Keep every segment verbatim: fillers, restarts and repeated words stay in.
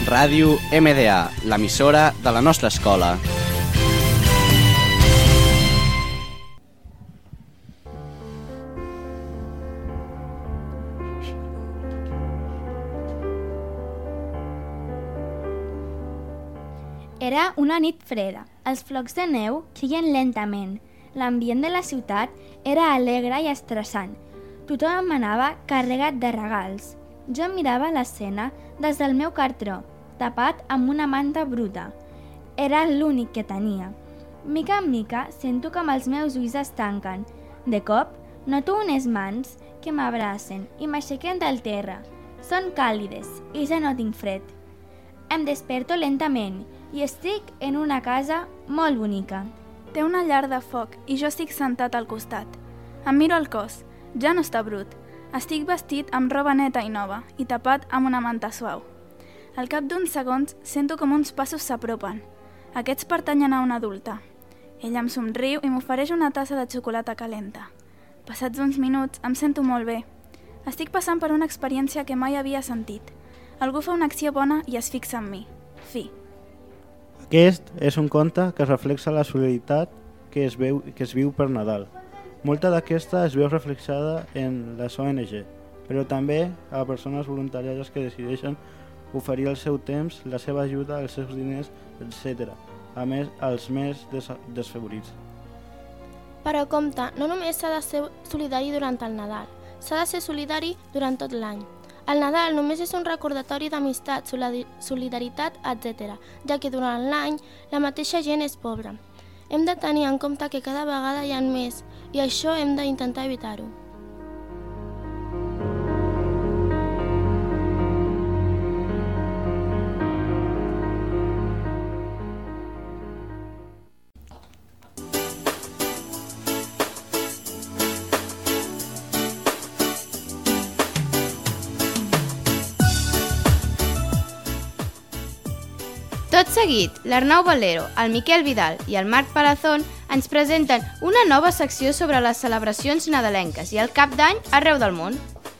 Ràdio M D A, l'emissora de la nostra escola. Era una nit freda. Els flocs de neu queien lentament. L'ambient de la ciutat era alegre i estressant. Tothom anava carregat de regals. Jo mirava l'escena des del meu cartró, tapat amb una manta bruta. Era l'únic que tenia. Mica en mica sento com els meus ulls es tanquen. De cop, noto unes mans que m'abracen i m'aixequen del terra. Són càlides i ja no tinc fred. Em desperto lentament i estic en una casa molt bonica. Té una llar de foc i jo estic sentat al costat. Em miro el cos. Ja no està brut. Estic vestit amb roba neta i nova i tapat amb una manta suau. Al cap d'uns segons sento com uns passos s'apropen. Aquests pertanyen a una adulta. Ella em somriu i m'ofereix una tassa de xocolata calenta. Passats uns minuts em sento molt bé. Estic passant per una experiència que mai havia sentit. Algú fa una acció bona i es fixa en mi. Fi. Aquest és un conte que reflexa la solidaritat que es, veu, que es viu per Nadal. Molta d'aquesta es veu reflexada en les O N G, però també a persones voluntàries que decideixen oferir el seu temps, la seva ajuda, els seus diners, etcètera. A més, als més des desfavorits. Però compte, no només s'ha de ser solidari durant el Nadal, s'ha de ser solidari durant tot l'any. El Nadal només és un recordatori d'amistat, solidaritat, etcètera, ja que durant l'any la mateixa gent és pobra. Hem de tenir en compte que cada vegada hi ha més i això hem d'intentar evitar-ho. Tot seguit, l'Arnau Valero, el Miquel Vidal i el Marc Palazón ens presenten una nova secció sobre les celebracions nadalenques i el cap d'any arreu del món.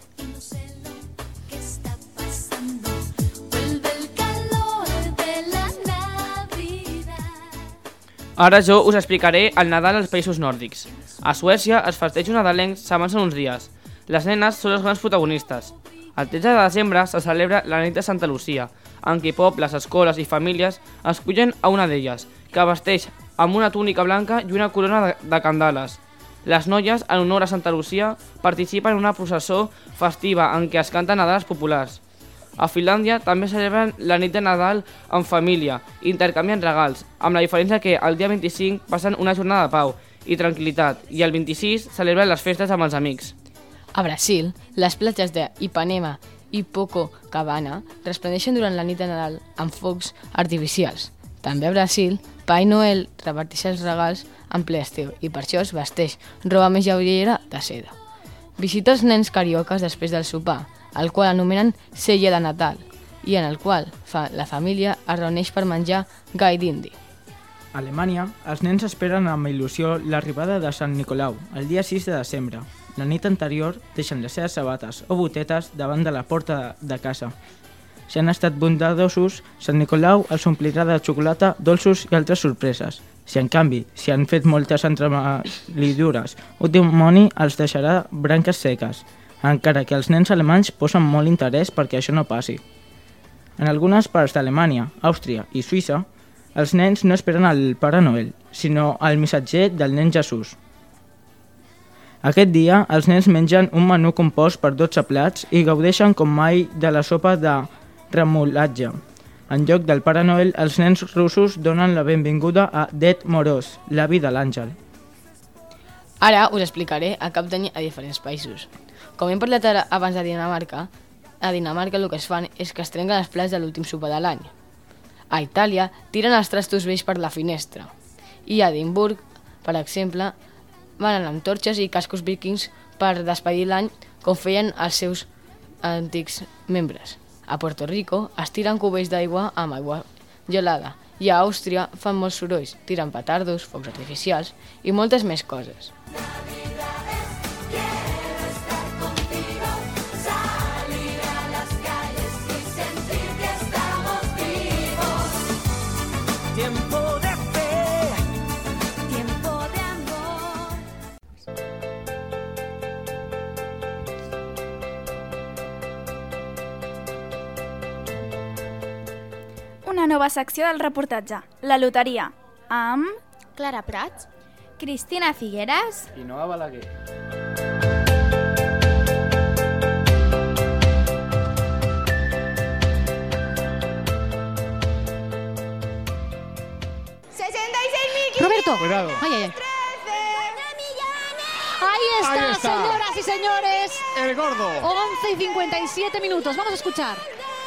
Ara jo us explicaré el Nadal als països nòrdics. A Suècia els festejos nadalencs s'avancen uns dies. Les nenes són les grans protagonistes. El tretze de desembre se celebra la nit de Santa Lucia, en què pobles, escoles i famílies escullen a una d'elles, que vesteix amb una túnica blanca i una corona de, de candales. Les noies, en honor a Santa Lucia, participen en una processó festiva en què es canten nadales populars. A Finlàndia també celebren la nit de Nadal en família i intercanvien regals, amb la diferència que el dia vint-i-cinc passen una jornada de pau i tranquil·litat i el vint-i-sis celebren les festes amb els amics. A Brasil, les platges d'Ipanema i Copacabana resplendeixen durant la nit de Nadal amb focs artificials. També a Brasil, Pai Noel reparteix els regals en ple estiu i per això es vesteix roba més lleugera de seda. Visita els nens cariocas després del sopar, el qual anomenen Cella de Natal, i en el qual fa, la família es reuneix per menjar gai d'indi. A Alemanya, els nens esperen amb il·lusió l'arribada de Sant Nicolau, el dia sis de desembre. La nit anterior deixen les seves sabates o botetes davant de la porta de casa. Si han estat bondadosos, Sant Nicolau els omplirà de xocolata, dolços i altres sorpreses. Si en canvi, si han fet moltes entremaliadures, un dimoni els deixarà branques seques, encara que els nens alemanys posen molt interès perquè això no passi. En algunes parts d'Alemanya, Àustria i Suïssa, els nens no esperen el Pare Noel, sinó el missatger del nen Jesús. Aquest dia, els nens mengen un menú compost per dotze plats i gaudeixen com mai de la sopa de remolatge. En lloc del Pare Noel, els nens russos donen la benvinguda a Ded Moroz, l'avi de l'àngel. Ara us explicaré el cap d'any a diferents països. Com hem parlat ara abans de Dinamarca, a Dinamarca el que es fan és que es trenquen els plats de l'últim sopar de l'any. A Itàlia tiren els trastos vells per la finestra. I a Edimburg, per exemple, van amb torxes i cascos vikings per despedir l'any com feien els seus antics membres. A Puerto Rico es tiren cubells d'aigua amb aigua gelada i a Àustria fan molts sorolls, tiren petardos, focs artificials i moltes més coses. Salir a las calles y sentir que estamos bien. una nova secció del reportatge, la loteria, amb... Clara Prats, Cristina Figueres I Noa Balaguer. Roberto. Cuidado. Ay, ay, ay. Ahí está, Ahí está. señoras y señores. El gordo. once y cincuenta y siete minutos. Vamos a escuchar.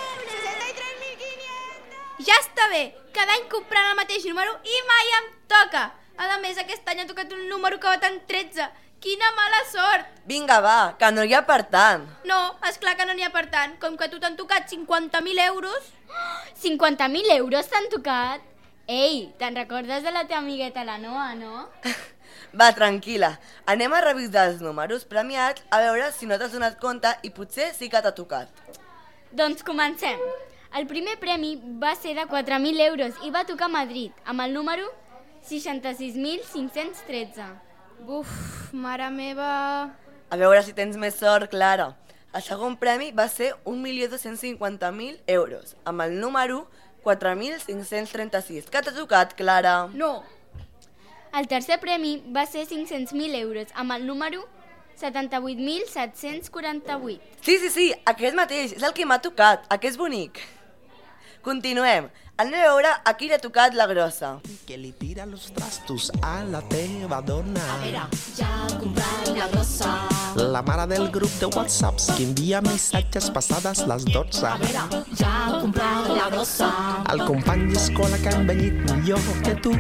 Ja està bé, cada any comprant el mateix número i mai em toca. A més, aquest any ha tocat un número que va tant tretze. Quina mala sort! Vinga, va, que no hi ha per tant. No, esclar que no n'hi ha per tant. Com que a tu t'han tocat cinquanta mil euros... cinquanta mil euros t'han tocat? Ei, te'n recordes de la teva amigueta la Noa, no? Va, tranquil·la. Anem a revisar els números premiats a veure si no t'has donat compte i potser sí que t'ha tocat. Doncs comencem. El primer premi va ser de quatre mil euros i va tocar a Madrid, amb el número seixanta-sis mil cinc-cents tretze. Buf, mare meva... A veure si tens més sort, Clara. El segon premi va ser un milió dos-cents cinquanta mil euros, amb el número quatre mil cinc-cents trenta-sis. Que t'ha tocat, Clara? No. El tercer premi va ser cinc-cents mil euros, amb el número setanta-vuit mil set-cents quaranta-vuit. Sí, sí, sí, aquest mateix, és el que m'ha tocat, aquest és bonic. Continuem. Anem a veure a qui li ha tocat la grossa. Que li tira los trastos a la teva dona. A veure, ja ha comprat la grossa. La mare del grup de whatsapps que envia missatges passades les dotze. A veure, ja ha comprat la grossa. El company d'escola que ha envellit millor que tu.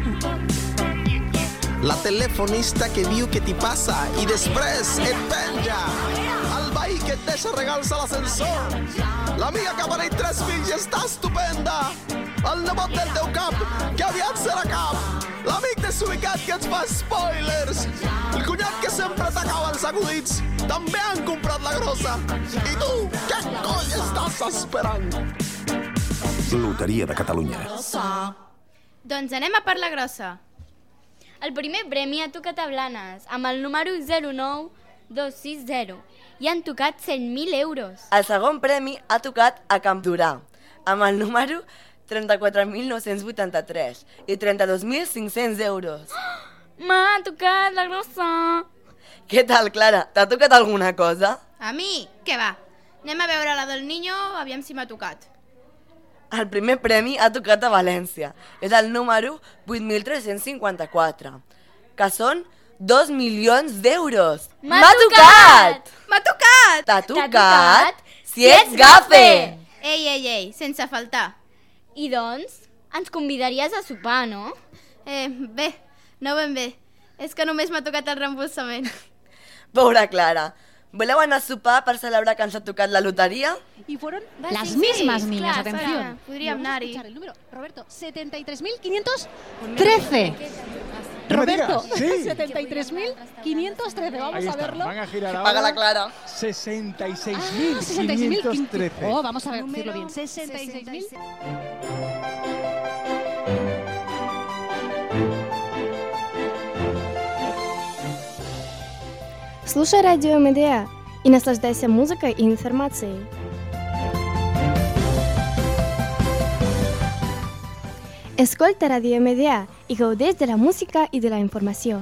La telefonista que diu que t'hi passa i després et penja. El veí que et deixa regals a l'ascensor. L'amiga que ha parit tres fills i està estupenda. El nebot del teu cap, que aviat serà cap. L'amic desubicat que ens fa spoilers. El cunyat que sempre t'acaba els acudits. També han comprat la grossa. I tu, què coll estàs esperant? Loteria de Catalunya. Doncs anem a per la grossa. El primer premi ha tocat a Blanes, amb el número zero nou dos sis zero, i han tocat cent mil euros. El segon premi ha tocat a Campdorà, amb el número trenta-quatre mil nou-cents vuitanta-tres i trenta-dos mil cinc-cents euros. M'ha tocat la grossa! Què tal, Clara? T'ha tocat alguna cosa? A mi? Què va? Anem a veure la del Niño, aviam si m'ha tocat. El primer premi ha tocat a València. És el número vuit mil tres-cents cinquanta-quatre, que són dos milions d'euros. M'ha tocat! M'ha tocat! T'ha tocat? Si ets gafe! Ei, ei, ei, sense faltar. I doncs, ens convidaries a sopar, no? Eh, bé, no ben bé. És que només m'ha tocat el reembolsament. Pobra Clara. ¿Voleu anar a sopar per celebrar que ens ha tocat la loteria? Y fueron Va, las sí, mismas sí, niñas, clar, atención. clar, podríem Vamos a anar-hi. escuchar el número, Roberto, setenta y tres mil quinientos trece. No me Roberto, digas, sí. setenta y tres mil quinientos trece. Vamos Ahí a está, verlo. van a girar ahora. Paga la Clara. sesenta y seis Ah, mil quinientos trece. Oh, vamos a ver, decirlo bien. sesenta y seis mil. Слушай радио Медиа и наслаждайся музыкой и информацией. Escolta Radio Medià i gaudeix de la música i de la informació.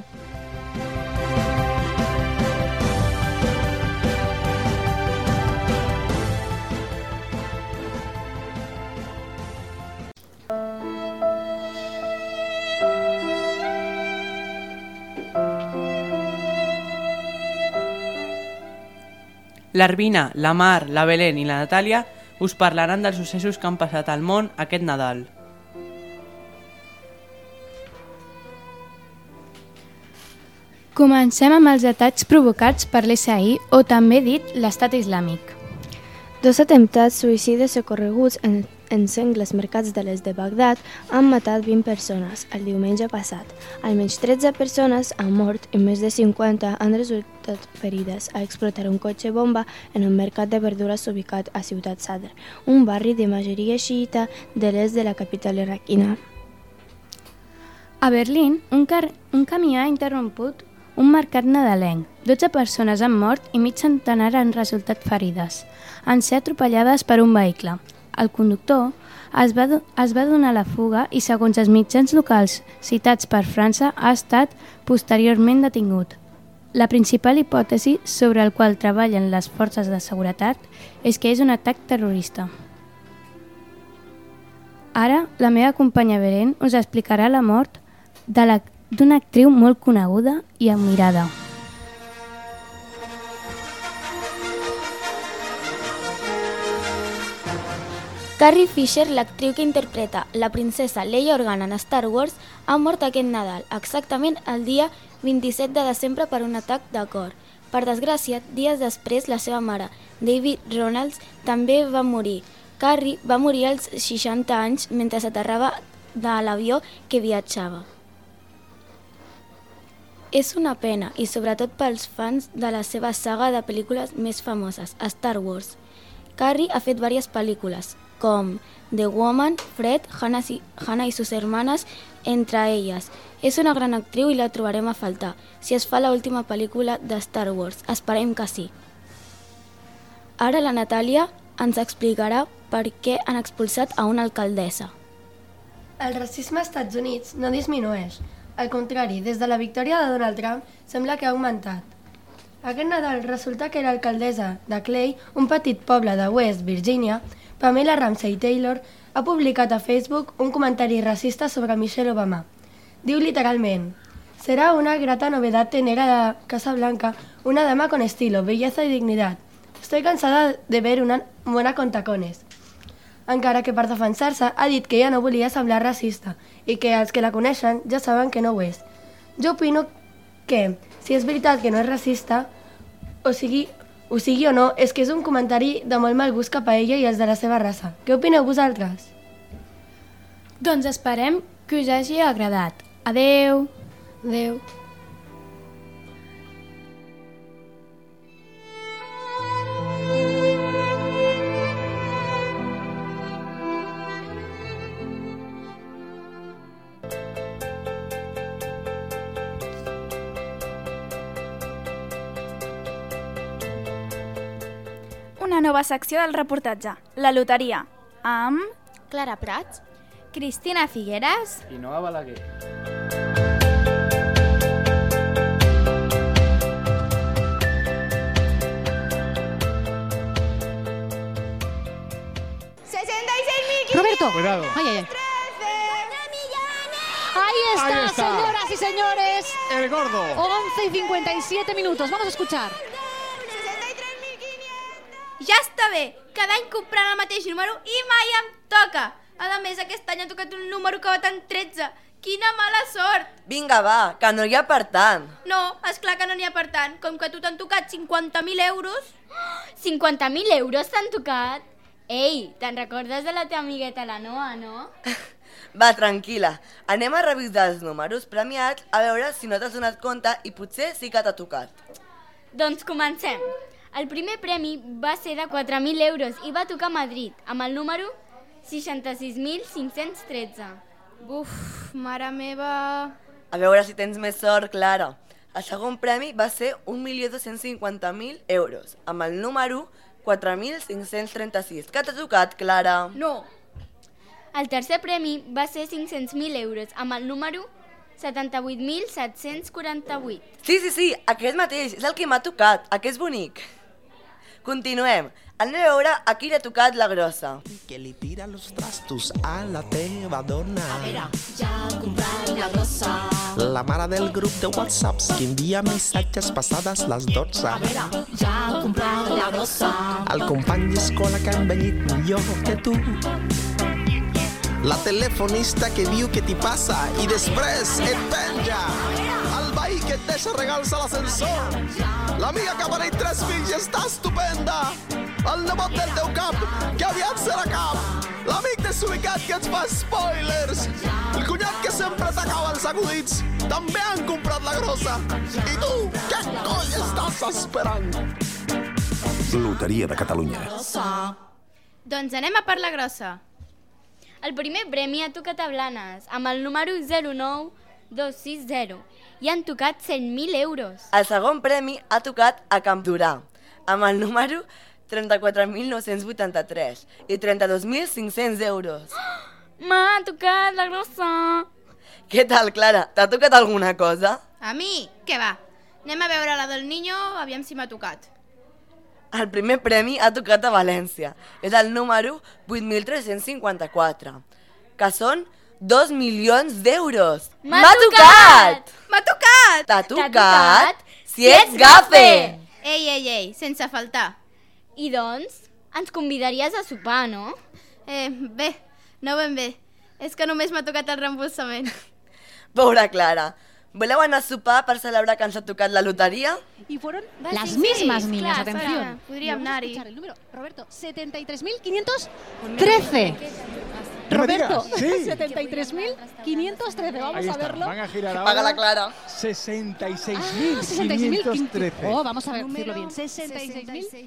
L'Arvina, la Mar, la Belén i la Natàlia us parlaran dels successos que han passat al món aquest Nadal. Comencem amb els atacs provocats per l'S A I, o també dit l'Estat Islàmic. Dos atemptats suïcides ocorreguts en, en sengles mercats de l'est de Bagdad han matat vint persones el diumenge passat. Almenys tretze persones han mort i més de cinquanta han resultat ferides a explotar un cotxe bomba en un mercat de verdures ubicat a Ciutat Sadr, un barri de majoria xiita de l'est de la capital iraquina. A Berlín, un, car un camió ha interromput un mercat nadalenc. dotze persones han mort i mig centenar han resultat ferides. Han ser atropellades per un vehicle. El conductor es va, es va donar la fuga i, segons els mitjans locals citats per França, ha estat posteriorment detingut. La principal hipòtesi sobre el qual treballen les forces de seguretat és que és un atac terrorista. Ara, la meva companya Beren us explicarà la mort d'una actriu molt coneguda i admirada. Carrie Fisher, l'actriu que interpreta la princesa Leia Organa en Star Wars, ha mort aquest Nadal, exactament el dia vint-i-set de desembre per un atac de cor. Per desgràcia, dies després, la seva mare, David Ronalds, també va morir. Carrie va morir als seixanta anys mentre s'aterrava de l'avió que viatjava. És una pena, i sobretot pels fans de la seva saga de pel·lícules més famoses, Star Wars. Carrie ha fet diverses pel·lícules, com The Woman, Fred, Hannah y, Hannah y sus hermanas, entre elles. És una gran actriu i la trobarem a faltar, si es fa l'última pel·lícula de Star Wars. Esperem que sí. Ara la Natàlia ens explicarà per què han expulsat a una alcaldessa. El racisme als Estats Units no disminueix. Al contrari, des de la victòria de Donald Trump sembla que ha augmentat. Aquest Nadal resulta que l'alcaldessa de Clay, un petit poble de West Virginia, Pamela Ramsey Taylor, ha publicat a Facebook un comentari racista sobre Michelle Obama. Diu literalment: «Será una grata novedad tener a la Casa Blanca una dama con estilo, belleza y dignidad. Estoy cansada de ver una mona con tacones». Encara que per defensar-se ha dit que ella no volia semblar racista i que els que la coneixen ja saben que no ho és. Jo opino que, si és veritat que no és racista, o sigui, ho sigui o no, és que és un comentari de molt mal gust cap a ella i els de la seva raça. Què opineu vosaltres? Doncs esperem que us hagi agradat. Adeu! Adeu! Una nova secció del reportatge, la loteria, amb... Clara Prats, Cristina Figueres i Noa Balaguer. sesenta y seis mil quinientos. Roberto. Cuidado. Ay, ay, ay. Ahí está, Ahí está. señoras y señores. El gordo. once y cincuenta y siete minutos. Vamos a escuchar. Ja està bé! Cada any comprant el mateix número i mai em toca! A més, aquest any ha tocat un número que va tant tretze. Quina mala sort! Vinga, va, que no hi ha per tant. No, esclar que no n'hi ha per tant. Com que a tu t'han tocat cinquanta mil euros... cinquanta mil euros t'han tocat? Ei, te'n recordes de la teva amigueta la Noa, no? Va, tranquil·la. Anem a revisar els números premiats a veure si no t'has donat compte i potser sí que t'ha tocat. Doncs comencem. El primer premi va ser de quatre mil euros i va tocar a Madrid, amb el número seixanta-sis mil cinc-cents tretze. Buf, mare meva... A veure si tens més sort, Clara. El segon premi va ser un milió dos-cents cinquanta mil euros, amb el número quatre mil cinc-cents trenta-sis. Què t'ha tocat, Clara? No. El tercer premi va ser cinc-cents mil euros, amb el número setanta-vuit mil set-cents quaranta-vuit. Sí, sí, sí, aquest mateix, és el que m'ha tocat, aquest bonic. Continuem. Anem a veure a qui li ha tocat la grossa. Que li tira los trastos a la teva dona. A veure, ja ha comprat la grossa. La mare del grup de whatsapps que envia missatges passades les dotze. A veure, ja ha comprat la grossa. El company d'escola que ha envellit millor que tu. La telefonista que diu que t'hi passa i després et penja. El veí que et deixa regals a l'ascensor. L'amiga que ha parit tres fills i està estupenda. El nebot del teu cap, que aviat serà cap. L'amic desubicat que et fa spoilers. El cunyat que sempre t'acaba els acudits. També han comprat la grossa. I tu, què coll estàs esperant? Loteria de Catalunya. Doncs anem a per la grossa. El primer premi ha tocat a Blanes, amb el número zero nou dos sis zero. I han tocat cent mil euros. El segon premi ha tocat a Campdorà, amb el número trenta-quatre mil nou-cents vuitanta-tres i trenta-dos mil cinc-cents euros. M'ha tocat la grossa. Què tal, Clara? T'ha tocat alguna cosa? A mi? Què va? Anem a veure la del Niño, aviam si m'ha tocat. El primer premi ha tocat a València. És el número vuit mil tres-cents cinquanta-quatre, que són dos milions d'euros. M'ha tocat! M'ha tocat! T'ha tocat? Si ets gafe! Ei, ei, ei, sense faltar. I doncs, ens convidaries a sopar, no? Eh, bé, no ben bé. És que només m'ha tocat el reembolsament. Pobra Clara. ¿Voleu anar a sopar per celebrar que ens ha tocat la loteria? Y fueron Va, las sí, mismas sí, niñas, clar, atención. Sara, podríem Vamos a anar-hi. escuchar el número, Roberto, setenta y tres mil quinientos trece. No me Roberto, digas, sí. setenta y tres mil quinientos trece. Vamos Ahí a está, verlo. van a girar Paga ahora. la Clara. sesenta y seis Ah, mil sesenta y seis mil quinientos trece. Oh, vamos a decirlo bien. sesenta y seis mil.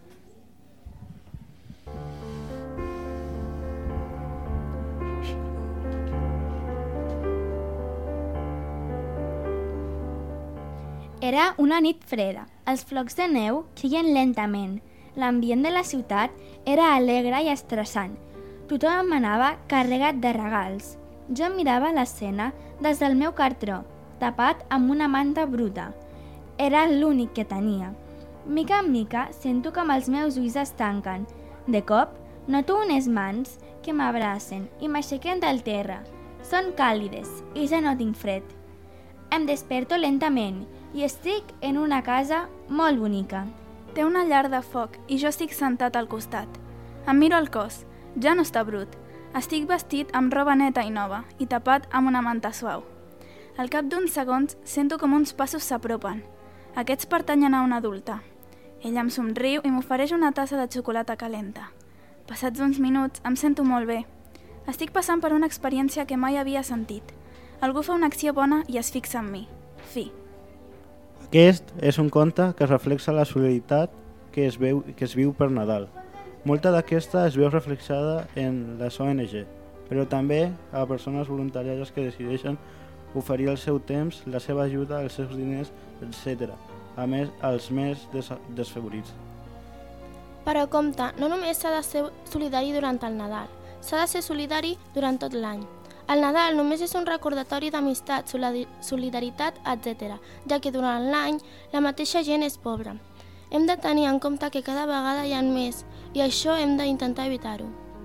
Era una nit freda. Els flocs de neu caien lentament. L'ambient de la ciutat era alegre i estressant. Tothom anava carregat de regals. Jo mirava l'escena des del meu cartró, tapat amb una manta bruta. Era l'únic que tenia. Mica en mica sento com els meus ulls es tanquen. De cop, noto unes mans que m'abracen i m'aixequen del terra. Són càlides i ja no tinc fred. Em desperto lentament i estic en una casa molt bonica. Té una llar de foc i jo estic sentat al costat. Em miro el cos. Ja no està brut. Estic vestit amb roba neta i nova i tapat amb una manta suau. Al cap d'uns segons sento com uns passos s'apropen. Aquests pertanyen a una adulta. Ella em somriu i m'ofereix una tassa de xocolata calenta. Passats uns minuts em sento molt bé. Estic passant per una experiència que mai havia sentit. Algú fa una acció bona i es fixa en mi. Fi. Aquest és un conte que reflexa la solidaritat que es, veu, que es viu per Nadal. Molta d'aquesta es veu reflexada en les O N G, però també a persones voluntàries que decideixen oferir el seu temps, la seva ajuda, els seus diners, etcètera, a més als més des desfavorits. Però compte, no només s'ha de ser solidari durant el Nadal, s'ha de ser solidari durant tot l'any. El Nadal només és un recordatori d'amistat, solidaritat, etcètera, ja que durant l'any la mateixa gent és pobra. Hem de tenir en compte que cada vegada hi ha més i això hem d'intentar evitar-ho.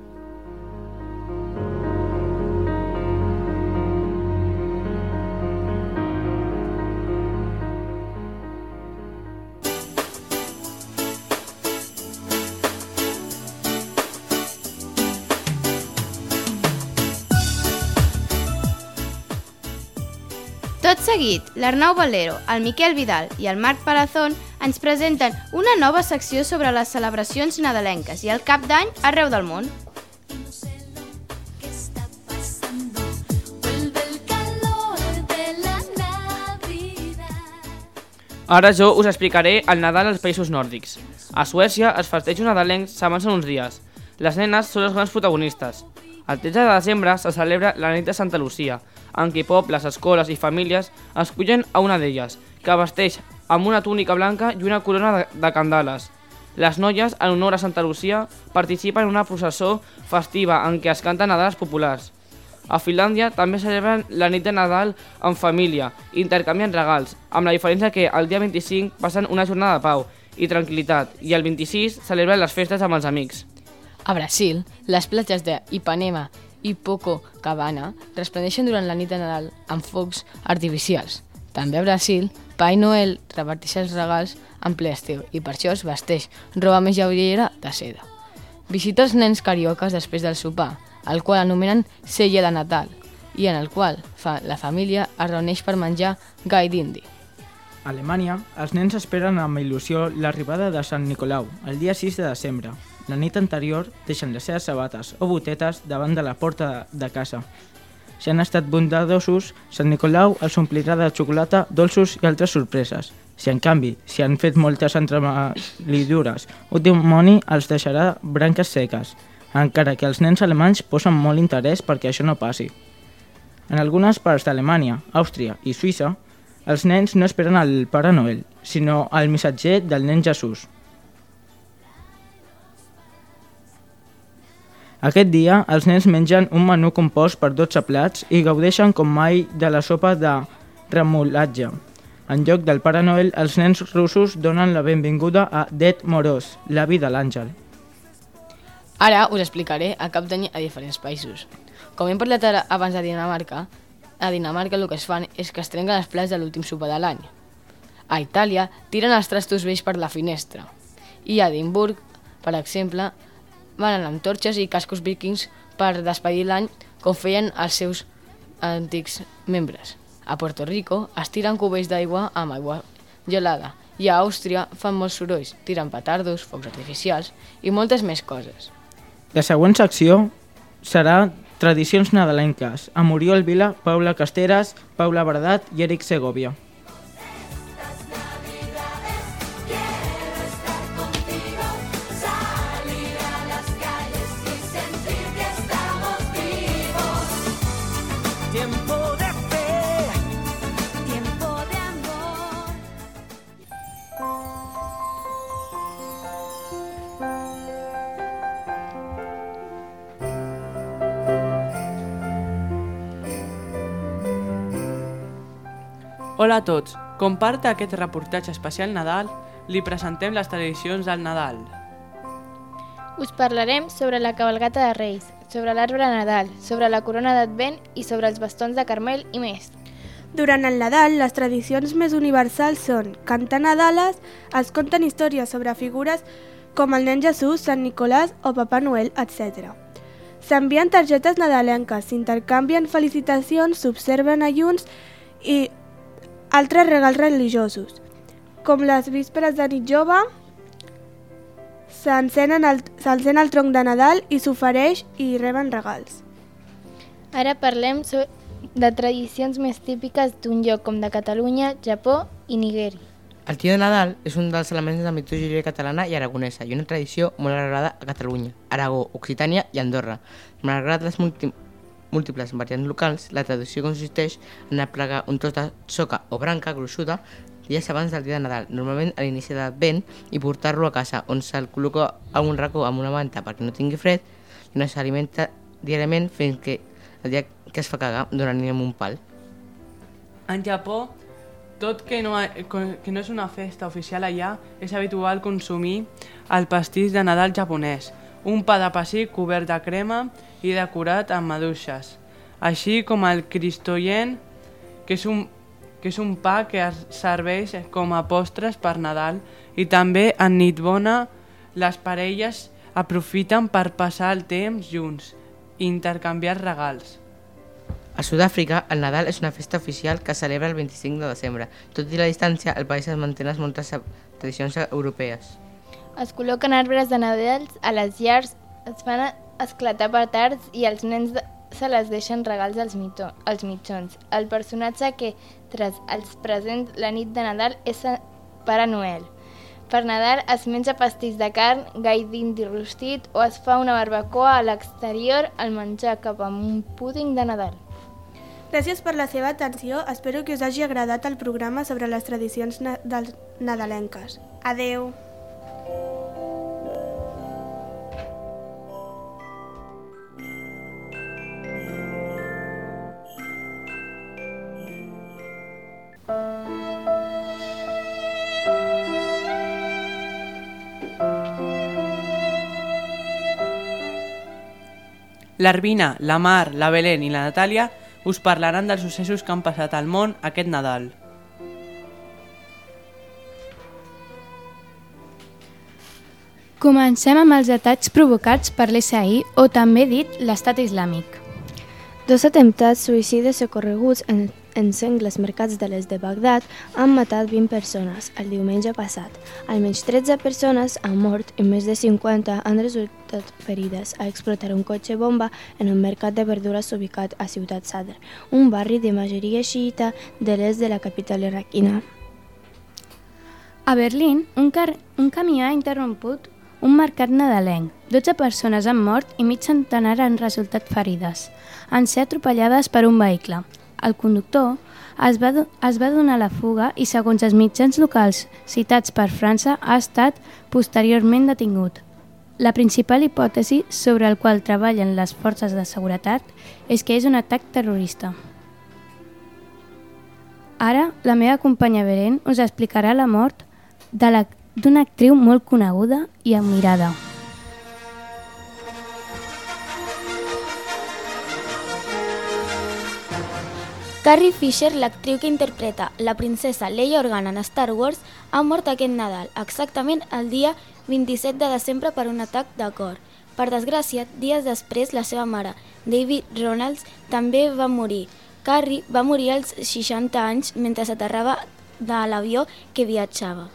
Tot seguit, l'Arnau Valero, el Miquel Vidal i el Marc Palazón ens presenten una nova secció sobre les celebracions nadalenques i el cap d'any arreu del món. Ara jo us explicaré el Nadal als països nòrdics. A Suècia es festeja un nadalenc s'avança en uns dies. Les nenes són les grans protagonistes. El tretze de desembre se celebra la nit de Santa Lucia, en què pobles, escoles i famílies escullen a una d'elles, que vesteix amb una túnica blanca i una corona de, de candales. Les noies, en honor a Santa Lucia, participen en una processó festiva en què es canten nadales populars. A Finlàndia també celebren la nit de Nadal en família i intercanvien regals, amb la diferència que el dia vint-i-cinc passen una jornada de pau i tranquil·litat i el vint-i-sis celebren les festes amb els amics. A Brasil, les platges de Ipanema i Copacabana resplendeixen durant la nit de Nadal amb focs artificials. També a Brasil, Pai Noel reparteix els regals en ple estiu i per això es vesteix roba més lleugera de seda. Visita els nens cariocas després del sopar, el qual anomenen Cella de Natal, i en el qual fa, la família es reuneix per menjar gai d'indi. A Alemanya, els nens esperen amb il·lusió l'arribada de Sant Nicolau, el dia sis de desembre. La nit anterior deixen les seves sabates o botetes davant de la porta de casa. Si han estat bondadosos, Sant Nicolau els omplirà de xocolata, dolços i altres sorpreses. Si en canvi, si han fet moltes entremaliadures, un dimoni els deixarà branques seques, encara que els nens alemanys posen molt interès perquè això no passi. En algunes parts d'Alemanya, Àustria i Suïssa, els nens no esperen el Pare Noel, sinó el missatger del nen Jesús. Aquest dia, els nens mengen un menú compost per dotze plats i gaudeixen com mai de la sopa de remolatge. En lloc del Pare Noel, els nens russos donen la benvinguda a Ded Moroz, l'avi de l'àngel. Ara us explicaré el cap d'any a diferents països. Com hem parlat ara abans de Dinamarca, a Dinamarca el que es fan és que es trenquen els plats de l'últim sopar de l'any. A Itàlia tiren els trastos vells per la finestra. I a Edimburg, per exemple, van amb torxes i cascos vikings per despedir l'any com feien els seus antics membres. A Puerto Rico es tiren cubells d'aigua amb aigua gelada i a Àustria fan molts sorolls, tiren petardos, focs artificials i moltes més coses. La següent secció serà Tradicions nadalenques, amb Oriol Vila, Paula Casteras, Paula Bardat i Eric Segovia. Hola a tots, com part d'aquest reportatge especial Nadal, li presentem les tradicions del Nadal. Us parlarem sobre la cabalgata de Reis, sobre l'arbre de Nadal, sobre la corona d'Advent i sobre els bastons de Carmel i més. Durant el Nadal, les tradicions més universals són cantar Nadales, es conten històries sobre figures com el nen Jesús, Sant Nicolàs o Papà Noel, etcètera. S'envien targetes nadalenques, s'intercanvien felicitacions, s'observen ayuns i altres regals religiosos, com les vísperes de nit jove, s'encén el, el tronc de Nadal i s'ofereix i reben regals. Ara parlem de tradicions més típiques d'un lloc com de Catalunya, Japó i Nigèria. El tio de Nadal és un dels elements de la mitologia catalana i aragonesa i una tradició molt arrelada a Catalunya, Aragó, Occitània i Andorra. Malgrat les múltiples múltiples variants locals, la tradició consisteix en aplegar un tros de soca o branca gruixuda dies abans del dia de Nadal, normalment a l'inici de l'Advent, i portar-lo a casa, on se'l col·loca a un racó amb una manta perquè no tingui fred i no s'alimenta diàriament fins que el dia que es fa cagar donant-li amb un pal. En Japó, tot que no, que no és una festa oficial allà, és habitual consumir el pastís de Nadal japonès, un pa de pessic cobert de crema i decorat amb maduixes, així com el cristoyen, que és un, que és un pa que es serveix com a postres per Nadal, i també en nit bona les parelles aprofiten per passar el temps junts i intercanviar regals. A Sud-àfrica, el Nadal és una festa oficial que es celebra el vint-i-cinc de desembre. Tot i la distància, el país es manté en moltes tradicions europees. Es col·loquen arbres de Nadal a les llars, es fan esclatar petards i els nens se les deixen regals als, mito, als mitjons. El personatge que tras els presents la nit de Nadal és Pare Noel. Per Nadal es menja pastís de carn, gall d'indi rostit o es fa una barbacoa a l'exterior al menjar cap amb un púding de Nadal. Gràcies per la seva atenció. Espero que us hagi agradat el programa sobre les tradicions na- nadalenques. Adeu! L'Arvina, la Mar, la Belén i la Natàlia us parlaran dels successos que han passat al món aquest Nadal. Comencem amb els atacs provocats per l'S I o també dit l'Estat Islàmic. Dos atemptats suïcides ocorreguts en, en sengles mercats de l'est de Bagdad han matat vint persones el diumenge passat. Almenys tretze persones han mort i més de cinquanta han resultat ferides a explotar un cotxe bomba en un mercat de verdures ubicat a Ciutat Sadr, un barri de majoria xiita de l'est de la capital iraquina. A Berlín, un, car un camió ha interromput un mercat nadalenc. dotze persones han mort i mig centenar han resultat ferides. Han ser atropellades per un vehicle. El conductor es va, es va donar la fuga i, segons els mitjans locals citats per França, ha estat posteriorment detingut. La principal hipòtesi sobre el qual treballen les forces de seguretat és que és un atac terrorista. Ara, la meva companya Beren us explicarà la mort de la, d'una actriu molt coneguda i admirada. Carrie Fisher, l'actriu que interpreta la princesa Leia Organa en Star Wars, ha mort aquest Nadal, exactament el dia vint-i-set de desembre per un atac de cor. Per desgràcia, dies després, la seva mare, David Ronalds, també va morir. Carrie va morir als seixanta anys mentre s'aterrava de l'avió que viatjava.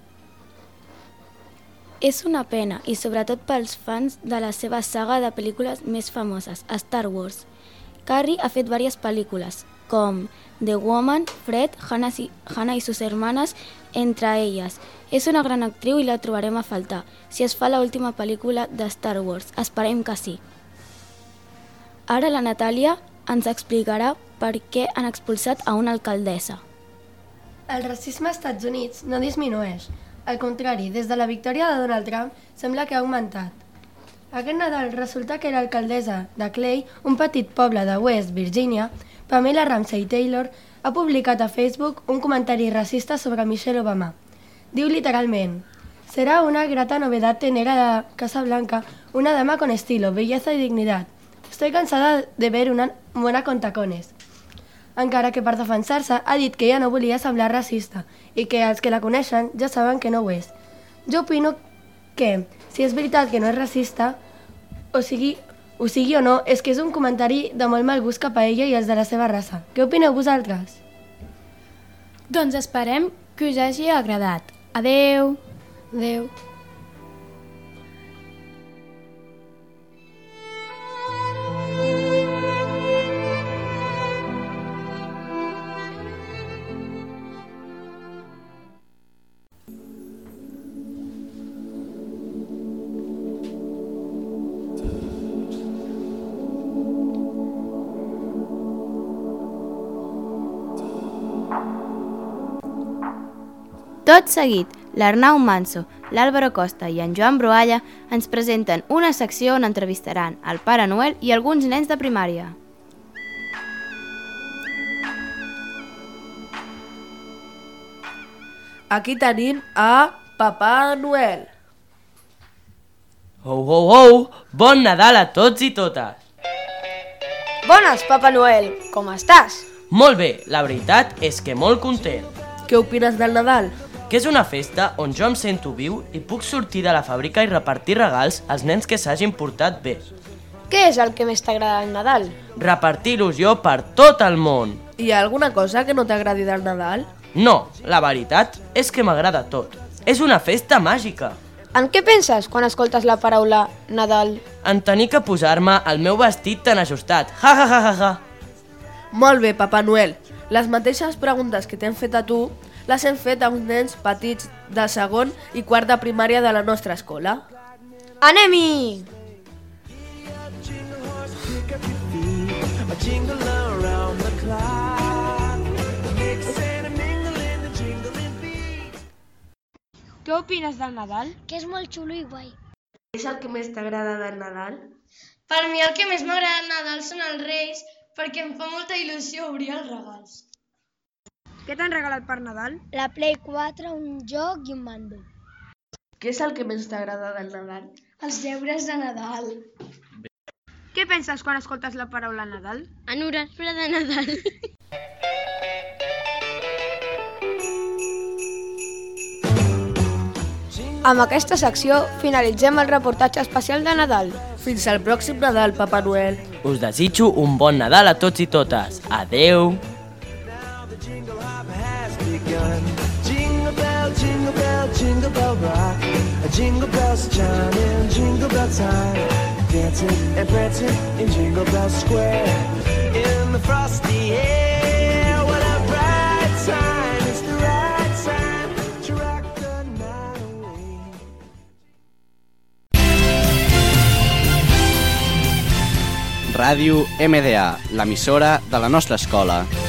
És una pena, i sobretot pels fans de la seva saga de pel·lícules més famoses, Star Wars. Carrie ha fet diverses pel·lícules, com The Woman, Fred, Hannah y, Hannah y sus hermanas, entre elles. És una gran actriu i la trobarem a faltar, si es fa l'última pel·lícula de Star Wars. Esperem que sí. Ara la Natàlia ens explicarà per què han expulsat a una alcaldessa. El racisme als Estats Units no disminueix. Al contrari, des de la victòria de Donald Trump sembla que ha augmentat. Aquest Nadal resulta que l'alcaldessa de Clay, un petit poble de West Virginia, Pamela Ramsey Taylor, ha publicat a Facebook un comentari racista sobre Michelle Obama. Diu literalment: «Será una grata novedad tener a la Casa Blanca una dama con estilo, belleza y dignidad. Estoy cansada de ver una buena con tacones». Encara que per defensar-se ha dit que ella no volia semblar racista i que els que la coneixen ja saben que no ho és. Jo opino que, si és veritat que no és racista, o sigui, ho sigui o no, és que és un comentari de molt mal gust cap a ella i els de la seva raça. Què opineu vosaltres? Doncs esperem que us hagi agradat. Adeu! Adeu! Tot seguit, l'Arnau Manso, l'Àlvaro Costa i en Joan Broalla ens presenten una secció on entrevistaran el Pare Noel i alguns nens de primària. Aquí tenim a Papà Noel. Ho, ho, ho! Bon Nadal a tots i totes! Bones, Papà Noel! Com estàs? Molt bé, la veritat és que molt content. Què opines del Nadal? Que és una festa on jo em sento viu i puc sortir de la fàbrica i repartir regals als nens que s'hagin portat bé. Què és el que més t'agrada del Nadal? Repartir il·lusió per tot el món. Hi ha alguna cosa que no t'agradi del Nadal? No, la veritat és que m'agrada tot. És una festa màgica. En què penses quan escoltes la paraula Nadal? En tenir que posar-me el meu vestit tan ajustat. Ja, ja, ja, ja, ja. Molt bé, Papà Noel. Les mateixes preguntes que t'hem fet a tu les hem fet a uns nens petits de segon i quart de primària de la nostra escola. Anem-hi! Què opines del Nadal? Que és molt xulo i guai. És el que més t'agrada del Nadal? Per mi el que més m'agrada del Nadal són els Reis, perquè em fa molta il·lusió obrir els regals. Què t'han regalat per Nadal? La Play quatre, un joc i un mando. Què és el que més t'agrada del Nadal? Els deures de Nadal. Què penses quan escoltes la paraula Nadal? En hores de Nadal. Amb aquesta secció finalitzem el reportatge especial de Nadal. Fins al pròxim Nadal, Papà Noel. Us desitjo un bon Nadal a tots i totes. Adeu! Jingle bell, jingle bell, jingle bell rock. Jingle bells chiming, jingle bell time. Dancing and prancing in Jingle Bell Square. In the frosty air, what a bright time. It's the right time to rock the night away. Ràdio M D A, l'emissora de la nostra escola.